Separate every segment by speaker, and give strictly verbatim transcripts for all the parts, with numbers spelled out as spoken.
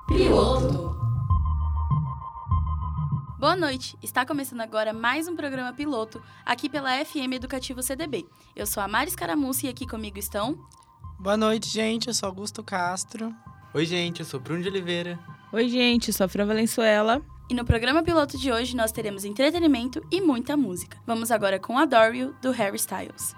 Speaker 1: Piloto.
Speaker 2: Boa noite, está começando agora mais um programa piloto aqui pela F M Educativo C D B. Eu sou a Mari Scaramucci e aqui comigo estão...
Speaker 3: Boa noite, gente, eu sou Augusto Castro.
Speaker 4: Oi, gente, eu sou Bruno de Oliveira.
Speaker 5: Oi, gente, eu sou a Fran Valenzuela.
Speaker 2: E no programa piloto de hoje nós teremos entretenimento e muita música. Vamos agora com Adore You, do Harry Styles.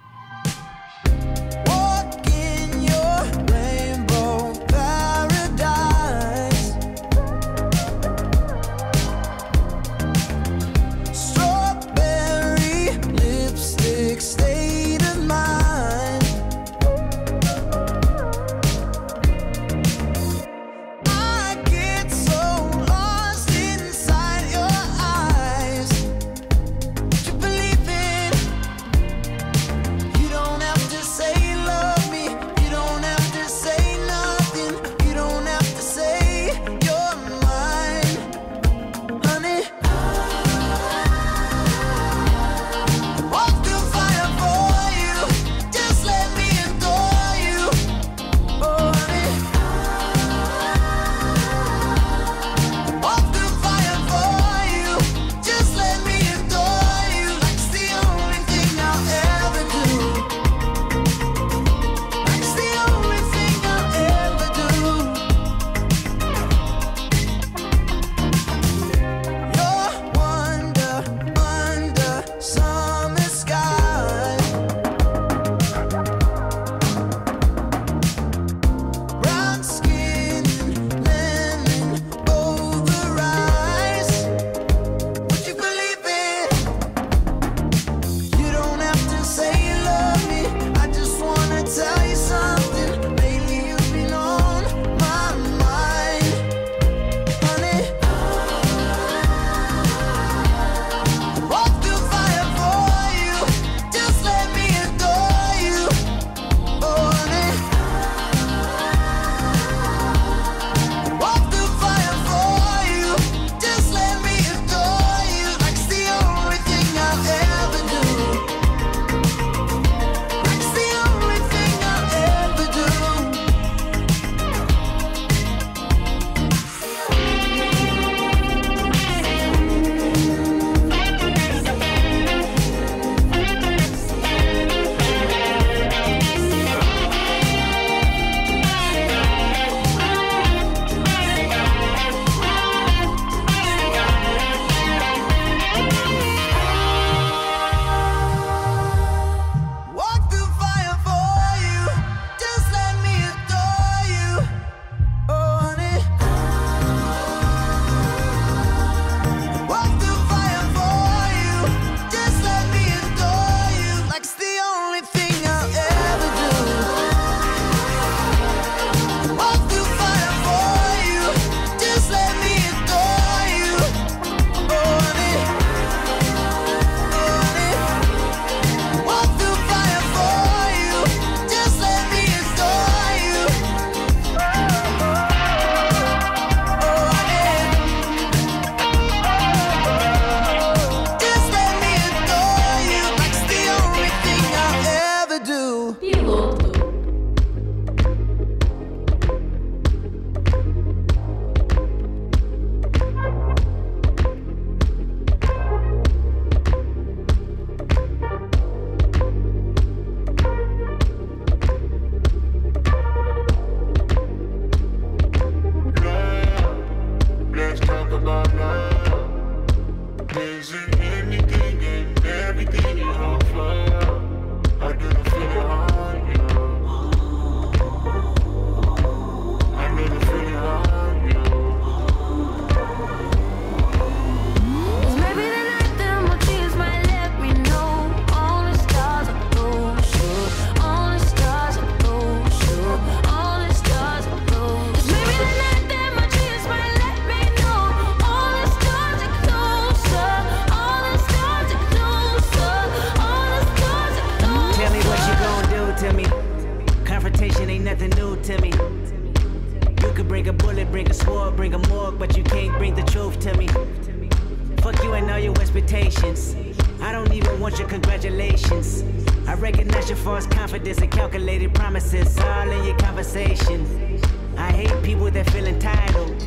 Speaker 6: I don't even want your congratulations. I recognize your false confidence and calculated promises all in your conversation. I hate people that feel entitled.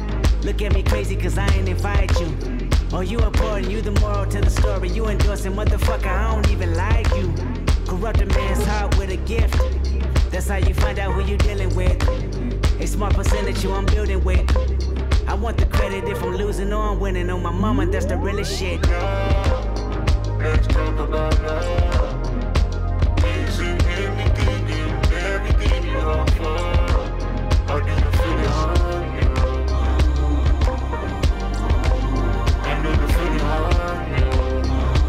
Speaker 6: Look at me crazy cause I ain't invite you. Oh, you important, you the moral to the story. You endorsing, motherfucker, I don't even like you. Corrupt a man's heart with a gift. That's how you find out who you dealing with. A smart percentage you I'm building with. I want the credit if I'm losing or I'm winning. On my mama, that's the realest shit.
Speaker 1: Let's talk about love. Easy, anything, and everything you offer. How do you feel it on you? I know the feeling on you.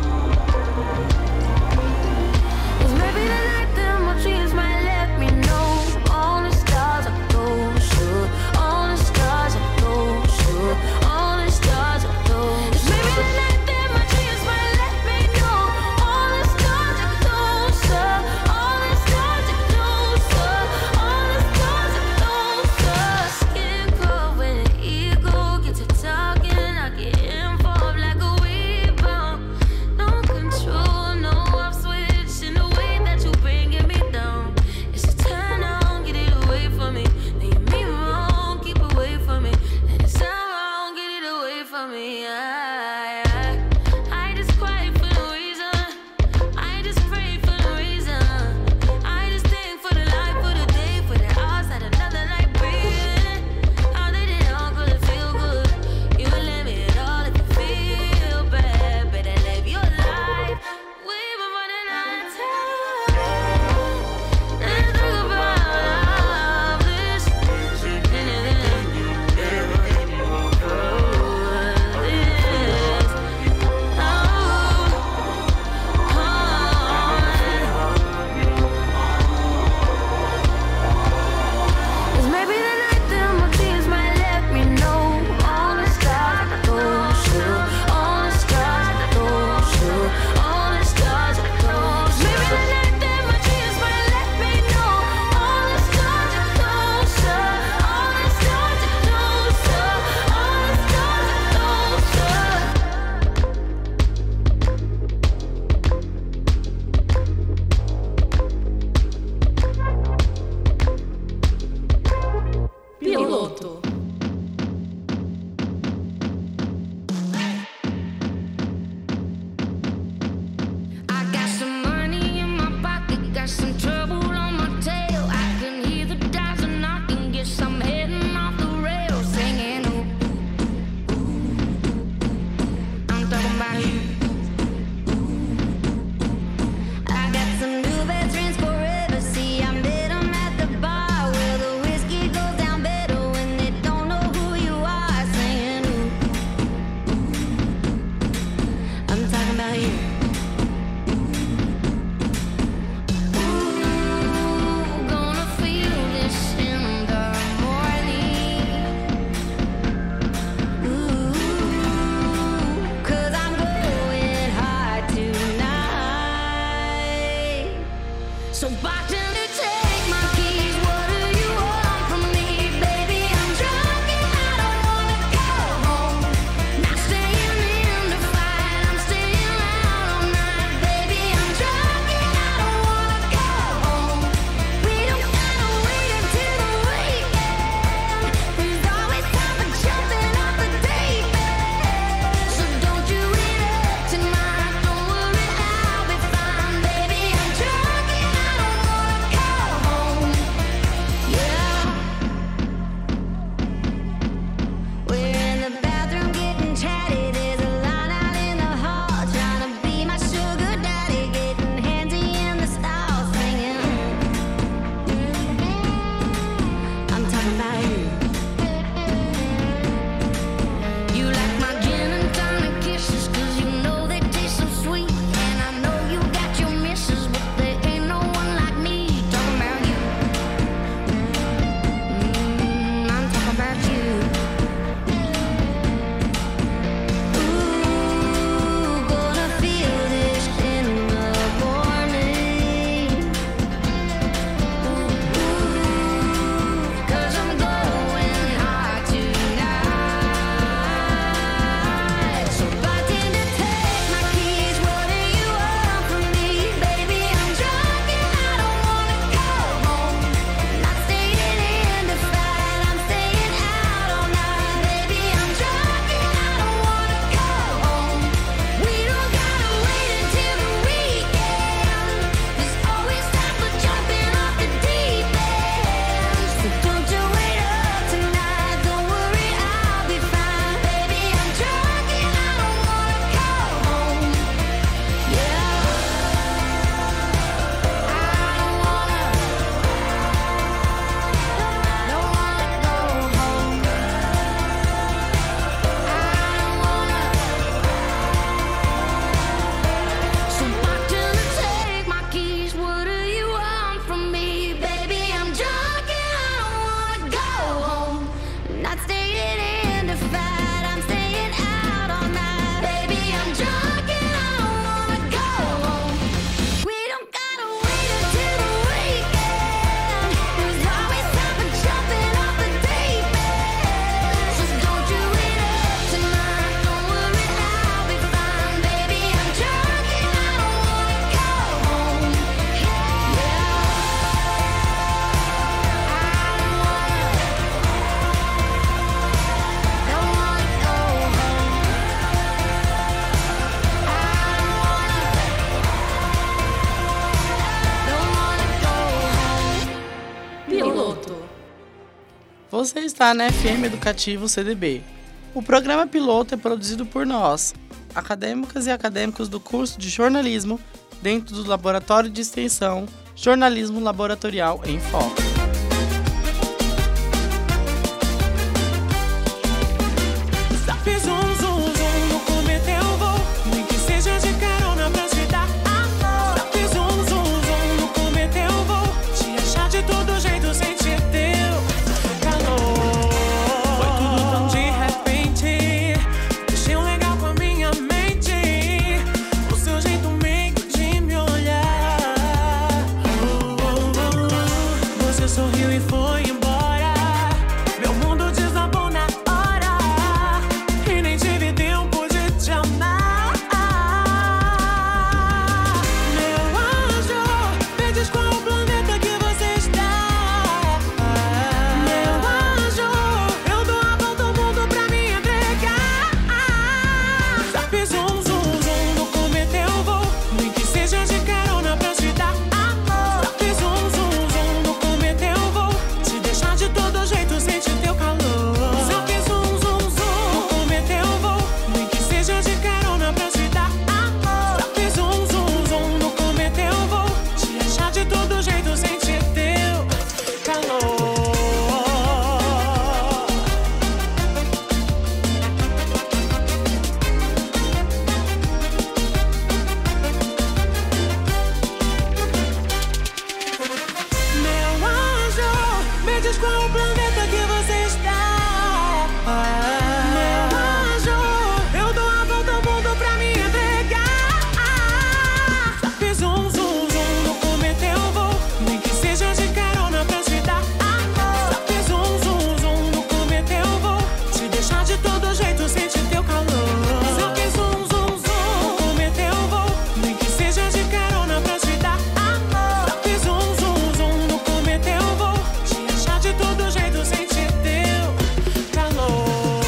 Speaker 7: It's maybe the night that my dreams might let me know. All the stars are closer. All the stars are closer. All the stars are closer. It's maybe the night that my dreams might let me know. All the stars are closer. All the stars are closer. All the stars are closer. Skin cold when the ego gets to talking. I get involved like a weed bomb. No control, no off switch in the way that you bringing me down. It's a turn on, get it away from me. Leave me wrong, keep away from me. And it's sound wrong, get it away from me. I, I, I just cry for no reason. I just pray for no reason. I just think for the life, for the day, for the hours that another night breathing. How did it all gonna feel good? You let me at all if you feel bad. Better live your life. We've been running out of time. Let's talk about this. It's maybe the night that my dreams might let me know. All the stars are closer. All the stars are closer. All the stars are closer. Maybe the night that my dreams might let me know. All the stars are closer. All the stars are closer. All the
Speaker 2: Piloto.
Speaker 7: I got some money in my pocket, got some trouble on my tail. I can hear the dials are knocking, guess I'm heading off the rails, singing ooh, ooh, ooh. I'm talking about you. I got some new best friends forever. See, I met 'em at the bar where the whiskey goes down better when it don't
Speaker 3: Você está na F M Educativo C D B. O programa piloto é produzido por nós, acadêmicas e acadêmicos do curso de jornalismo, dentro do Laboratório de Extensão Jornalismo Laboratorial em Foco.
Speaker 8: Fiz um zoom, zoom, no cometa eu vou, nem que seja de carona pra te dar amor. Fiz um zoom, zoom, no cometa eu vou, te achar de todo jeito, sentir teu calor. Foi tudo tão de repente, deixei um legal com a minha mente, o seu jeito meio de me olhar. Oh, oh, oh. Você sorriu e foi embora, meu mundo desabou na hora, e nem tive tempo de te amar. Meu anjo, me diz qual o planeta que você está. Meu anjo, eu dou a volta ao mundo pra me entregar. Fiz um zoom, zoom, no cometa eu vou, nem que seja de carona pra te dar amor. Fiz um zoom, zoom, no cometa eu vou, te deixar de todo jeito, sentir teu calor. Só fiz um zoom, zoom, no cometa eu vou, nem que seja de carona pra te dar amor. Só fiz um zoom, zoom, no cometa eu vou, te achar de todo jeito, sentir teu calor. Meu anjo, me diz qual o planeta que você está. Meu anjo, eu dou a volta ao mundo pra me entregar. Fiz um zoom, zoom, no cometa eu vou, nem que seja de carona pra te dar amor. Fiz um zoom, zoom, no cometa eu vou, te deixar de todo jeito, sentir teu calor. Só fiz um zoom, zoom, no cometa eu vou, nem que seja de carona pra te dar amor. Só fiz um zoom, zoom, no cometa eu vou, te achar de todo jeito, sentir teu calor.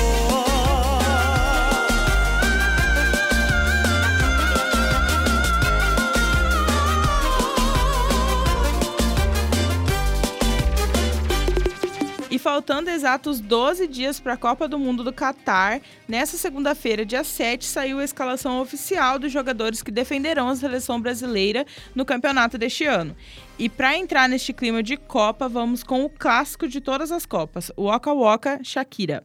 Speaker 5: E faltando exatos doze dias para a Copa do Mundo do Catar, nessa segunda-feira, dia sete, saiu a escalação oficial dos jogadores que defenderão a seleção brasileira no campeonato deste ano. E para entrar neste clima de Copa, vamos com o clássico de todas as Copas, o Waka Waka Shakira.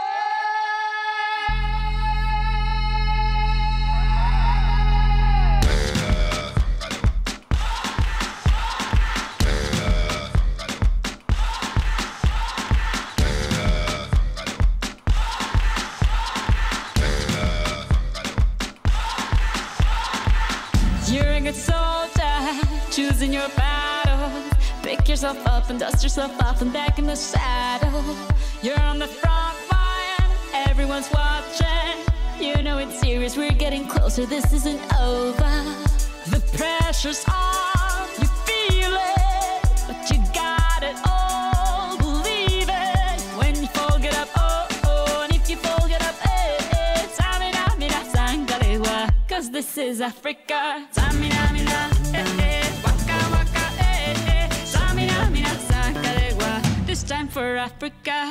Speaker 9: You're a good soldier, choosing your battle. Pick yourself up and dust yourself off and back in the saddle. You're on the front line, everyone's watching. You know it's serious, we're getting closer, this isn't over. The pressure's on, you feel it, but you got it all, believe it. When you fall, get up, oh, oh, and if you fall, get up, eh, eh. Tamina, mina, sangalewa, cause this is Africa. Tamina, mina, eh, eh, waka, waka, eh, eh. Tamina, mina, sangalewa, this time for Africa.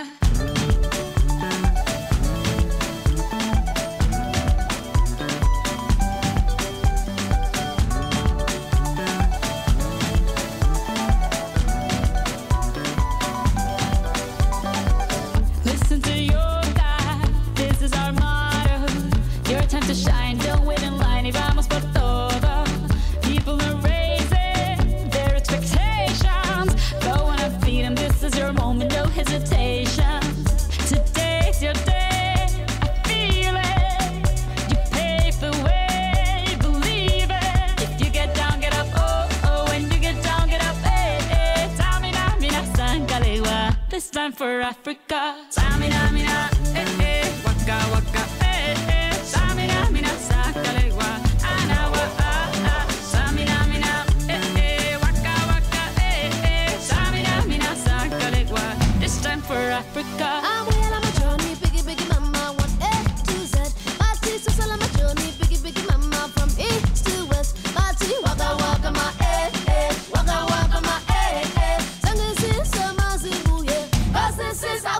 Speaker 9: Listen to your God, this is our motto. Your time to shine, don't wait in line, y vamos por todo. People are raising their expectations. Go on and feed them, this is your moment, no hesitation. Today's your day, I feel it. You pave the way, believe it. If you get down, get up, oh, oh. When you get down, get up, eh, eh. Tamina, mina, sangalewa, this time for Africa. Tamina, mina, eh, eh. Waka, waka, eh, eh. Tamina, mina, sangalewa, anawa, ah, ah. Tamina, mina, eh, eh. Waka, waka, eh, eh. Tamina, mina, sangalewa, this time for Africa.
Speaker 7: I'm well on my journey, biggie, biggie mama, one A to Z. My teacher's all on my journey, biggie, biggie mama, from east to west. My tea, waka, waka, my eh, eh. Waka, waka, my eh, eh. Sangin' since summer's in Cause this is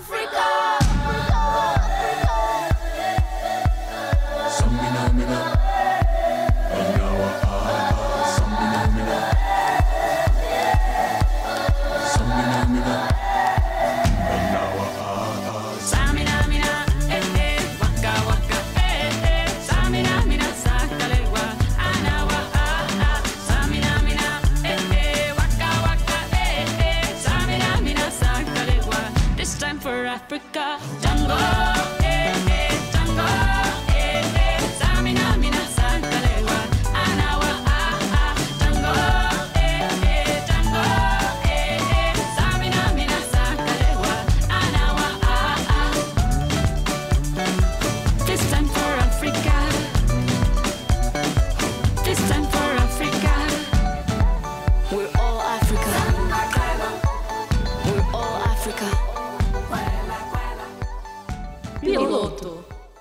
Speaker 9: Django, eh, eh, Django, eh, eh, Samina, mina, Sankalewa, Anawa, ah, ah, Django, eh, eh, Django, eh, eh, Samina, mina, Sankalewa, Anawa, ah, ah. This time for Africa. This time for Africa.
Speaker 7: We're all Africa. We're all Africa.
Speaker 2: Piloto.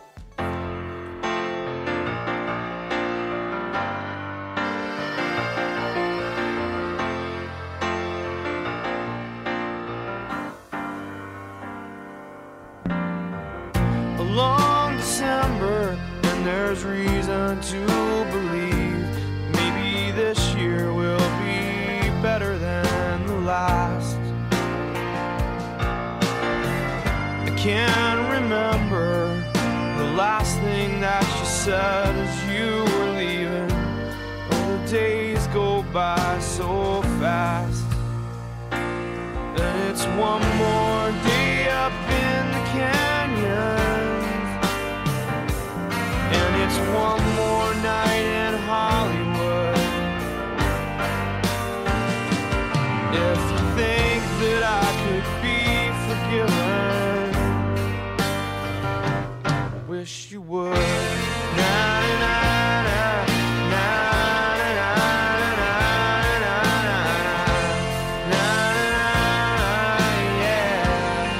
Speaker 1: A long December, and there's reason to believe maybe this year will be better than the last. I can't remember the last thing that you said as you were leaving. Oh, the days go by so fast. And it's one more day up in the canyons, and it's one more night in Hollywood. If you think that I could be forgiven, I wish you would. Na, na, na, na, na, na, na, na, na, na, yeah.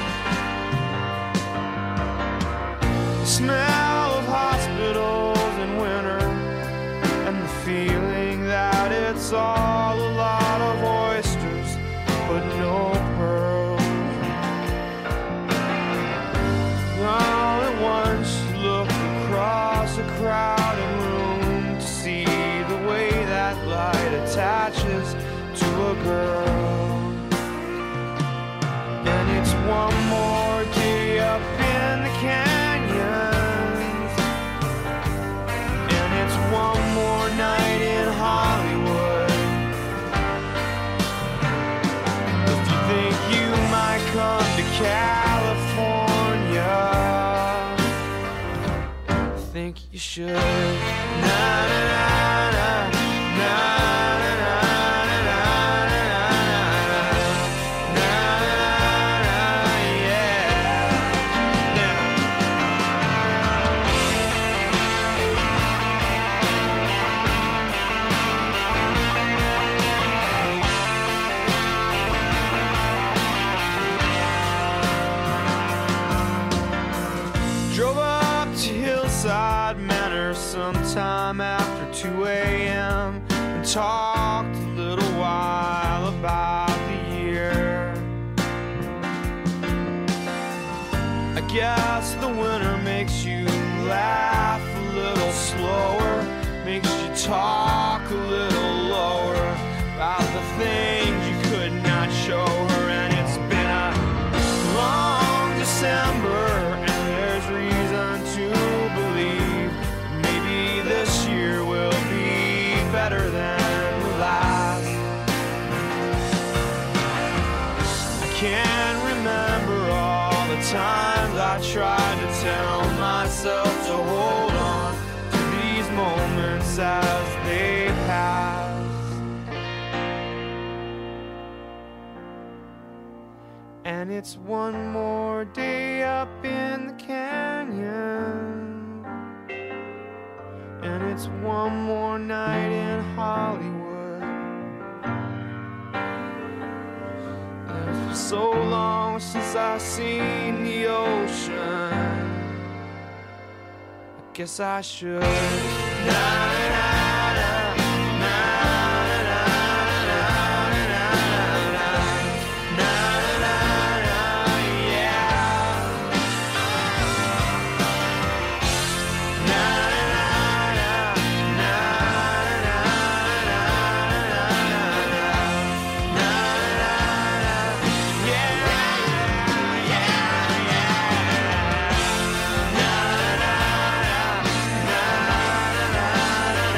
Speaker 1: The smell of hospitals in winter, and the feeling that it's all a lot of oysters, but no pearls. All at once you look across a crowded room to see the way that light attaches to a girl. And it's one more day up in the canyons, and it's one more night in Hollywood. If you think you might come to California, I think you should. Na, na, na, na, na, na, na, na, na, na, yeah. Now, drove up to Hillside Manor sometime after two a.m. and talked a little while about the year. I guess the winter makes you laugh a little slower, makes you talk a little lower about the things you could not show her. And it's been a long December, and there's reason to believe maybe this year will be better than the last. I can't remember all the times I tried to tell myself to hold on to these moments as they pass. And it's one more day up in the canyon, and it's one more night in Hollywood. And for so long since I've seen the ocean, I guess I should. Na, na, na, na, na, na, na, na, na, na, yeah. Na, na, na, na, na, na, na, yeah, yeah, yeah. Na, na, na, na, na,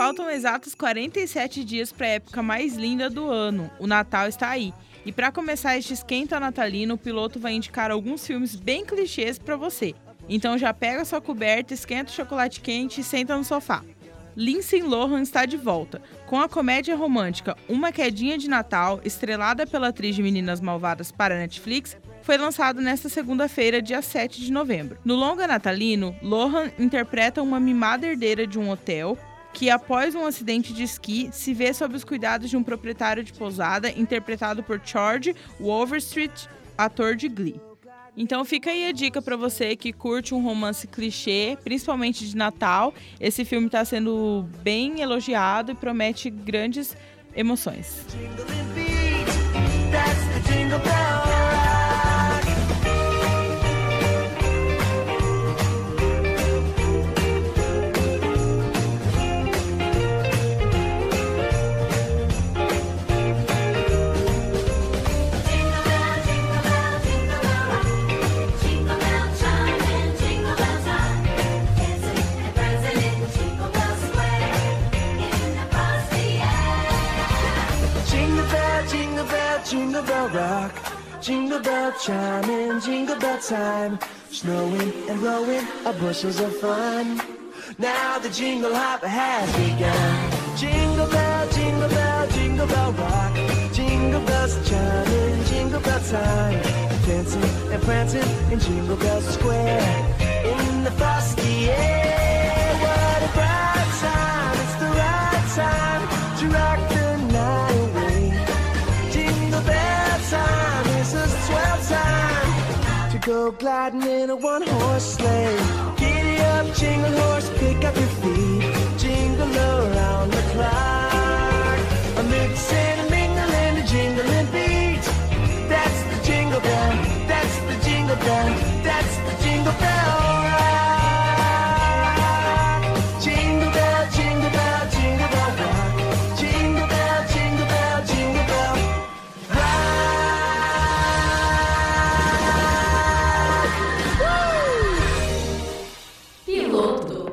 Speaker 5: faltam exatos quarenta e sete dias para a época mais linda do ano. O Natal está aí. E para começar este esquenta natalino, o piloto vai indicar alguns filmes bem clichês para você. Então já pega sua coberta, esquenta o chocolate quente e senta no sofá. Lindsay Lohan está de volta, com a comédia romântica Uma Quedinha de Natal, estrelada pela atriz de Meninas Malvadas para a Netflix, foi lançado nesta segunda-feira, dia sete de novembro. No longa natalino, Lohan interpreta uma mimada herdeira de um hotel que, após um acidente de esqui, se vê sob os cuidados de um proprietário de pousada, interpretado por George Overstreet, ator de Glee. Então fica aí a dica pra você que curte um romance clichê, principalmente de Natal. Esse filme tá sendo bem elogiado e promete grandes emoções.
Speaker 8: Jingle bell rock, jingle bell chime in jingle bell time. Snowing and blowing are bushels of fun. Now the jingle hop has begun. Jingle bell, jingle bell, jingle bell rock. Jingle bells chime in jingle bell time. Dancing and prancing in Jingle Bell Square. In the frosty air, what a bright time. It's the right time to rock the night away. Jingle bell time is a swell time to go gliding in a one-horse sleigh. Giddy up, jingle horse, pick up your feet. Jingle around the clock. A mix and a mingle and a jingling beat. That's the jingle bell, that's the jingle bell, that's the jingle bell rock. Jingle bell, jingle bell, jingle bell rock. Jingle bell, jingle bell, jingle bell
Speaker 2: Piloto.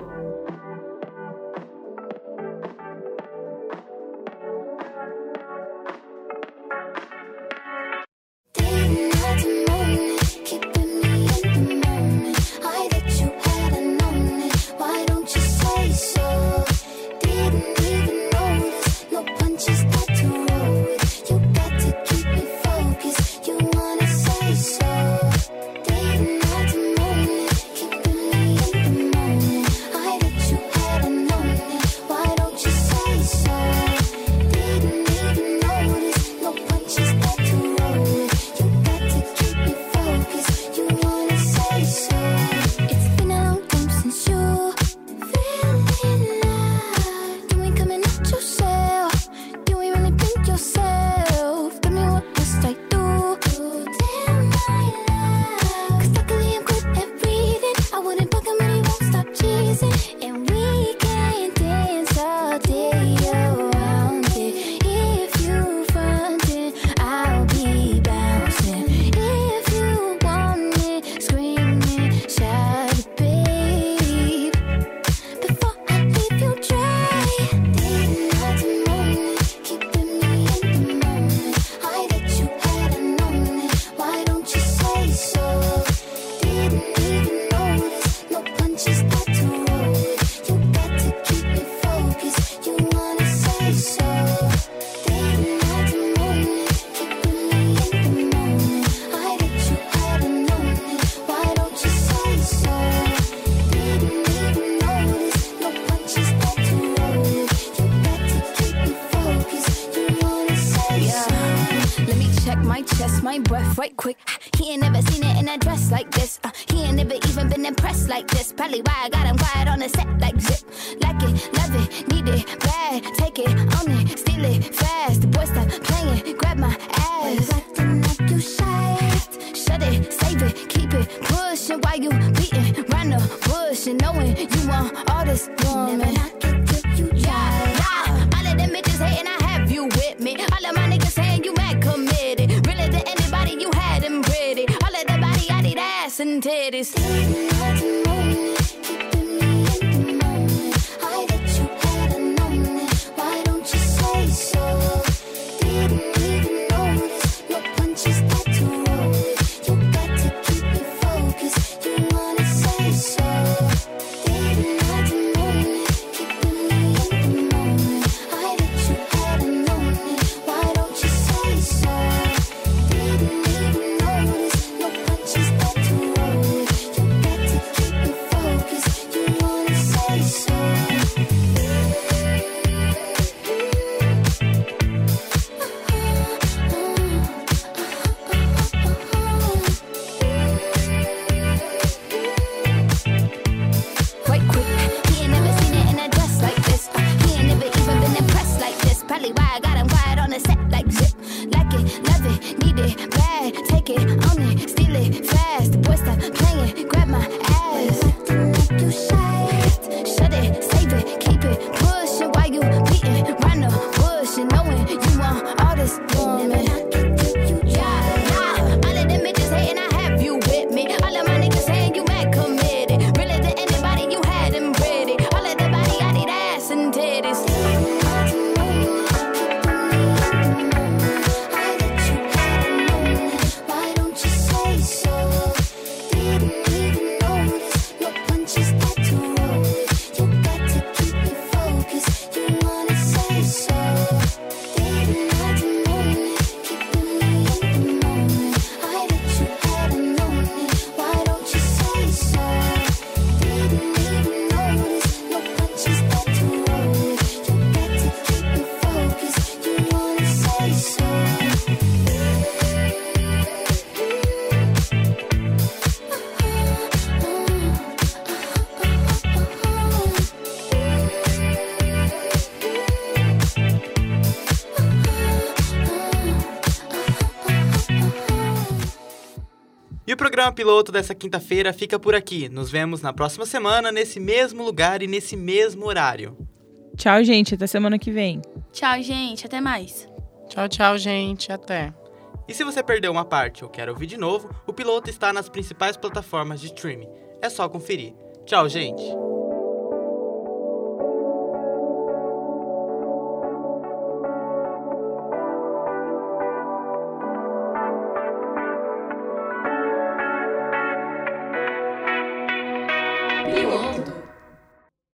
Speaker 7: My breath right quick. He ain't never seen it in a dress like this. Uh, he ain't never even been impressed like this. Probably why I got him quiet on the set like zip. Like it, love it, need it, bad. Take it, own it, steal it, fast. The boy stop playing, grab my ass. Acting like you shy. Shut it, save it, keep it pushing while you beating round the bush and knowing you want all this woman. Never knock it till you try. Yeah, all of them bitches hating, I have you with me. All of my niggas saying you mad committed. Really to anybody, you had them pretty. All of the body, I need ass and titties. Keeping me in the moment. I bet you had a moment. woman. Yeah, yeah. All of them bitches hating, I have you with me. All of my niggas saying you mad committed. Really to anybody, you had them pretty. All of the body, I need ass and titties. Why don't you say so? Didn't even notice your punches got to roll. You got to keep it focused. You wanna say so? Didn't have to know it, keeping me in the moment. I bet you had known it. Why don't you say so? Didn't even notice your punches got to roll. You got to keep it focused. You wanna say so?
Speaker 4: E o programa piloto dessa quinta-feira fica por aqui. Nos vemos na próxima semana, nesse mesmo lugar e nesse mesmo horário.
Speaker 5: Tchau, gente. Até semana que vem.
Speaker 2: Tchau, gente. Até mais.
Speaker 3: Tchau, tchau, gente. Até.
Speaker 4: E se você perdeu uma parte ou quer ouvir de novo, o piloto está nas principais plataformas de streaming. É só conferir. Tchau, gente.
Speaker 2: Piloto.